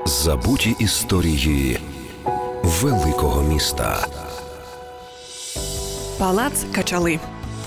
Забуті історії великого міста. Палац Качали.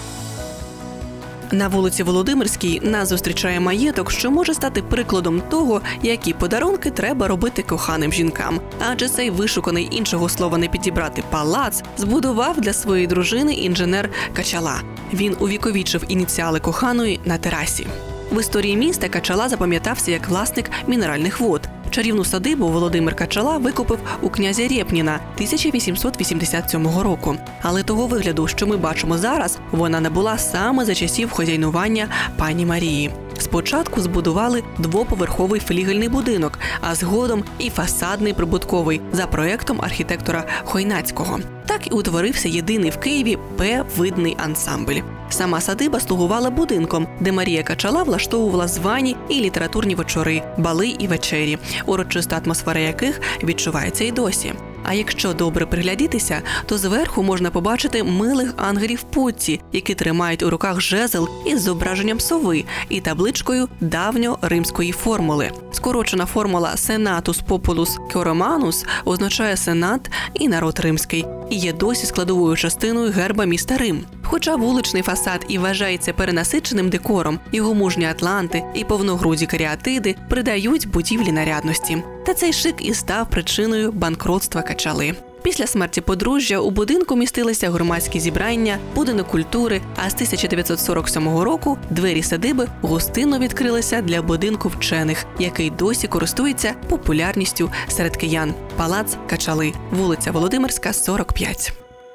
На вулиці Володимирській нас зустрічає маєток, що може стати прикладом того, які подарунки треба робити коханим жінкам. Адже цей вишуканий, іншого слова не підібрати, палац збудував для своєї дружини інженер Качала. Він увіковічив ініціали коханої на терасі. В історії міста Качала запам'ятався як власник мінеральних вод. Чарівну садибу Володимир Качала викупив у князя Рєпніна 1887 року. Але того вигляду, що ми бачимо зараз, вона набула саме за часів хазяйнування пані Марії. Спочатку збудували двоповерховий флігельний будинок, а згодом і фасадний прибутковий за проєктом архітектора Хойнацького. Так і утворився єдиний в Києві П-видний ансамбль. Сама садиба слугувала будинком, де Марія Качала влаштовувала звані і літературні вечори, бали і вечері, урочиста атмосфера яких відчувається й досі. А якщо добре приглядітися, то зверху можна побачити милих ангелів-путці, які тримають у руках жезл із зображенням сови і табличкою давньоримської формули. Скорочена формула «Senatus Populus Romanus» означає «Сенат» і «народ римський» і є досі складовою частиною герба міста Рим. Хоча вуличний фасад і вважається перенасиченим декором, його мужні атланти і повногруді каріатиди придають будівлі нарядності. Та цей шик і став причиною банкротства Качали. Після смерті подружжя у будинку містилися громадські зібрання, будинок культури, а з 1947 року двері садиби гостинно відкрилися для будинку вчених, який досі користується популярністю серед киян. Палац Качали, вулиця Володимирська, 45.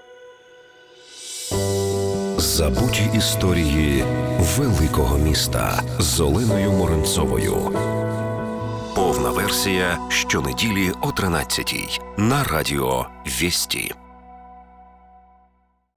Забуті історії великого міста з Оленою Моренцовою. Повна версія щонеділі о 13-й на радіо Вєсті.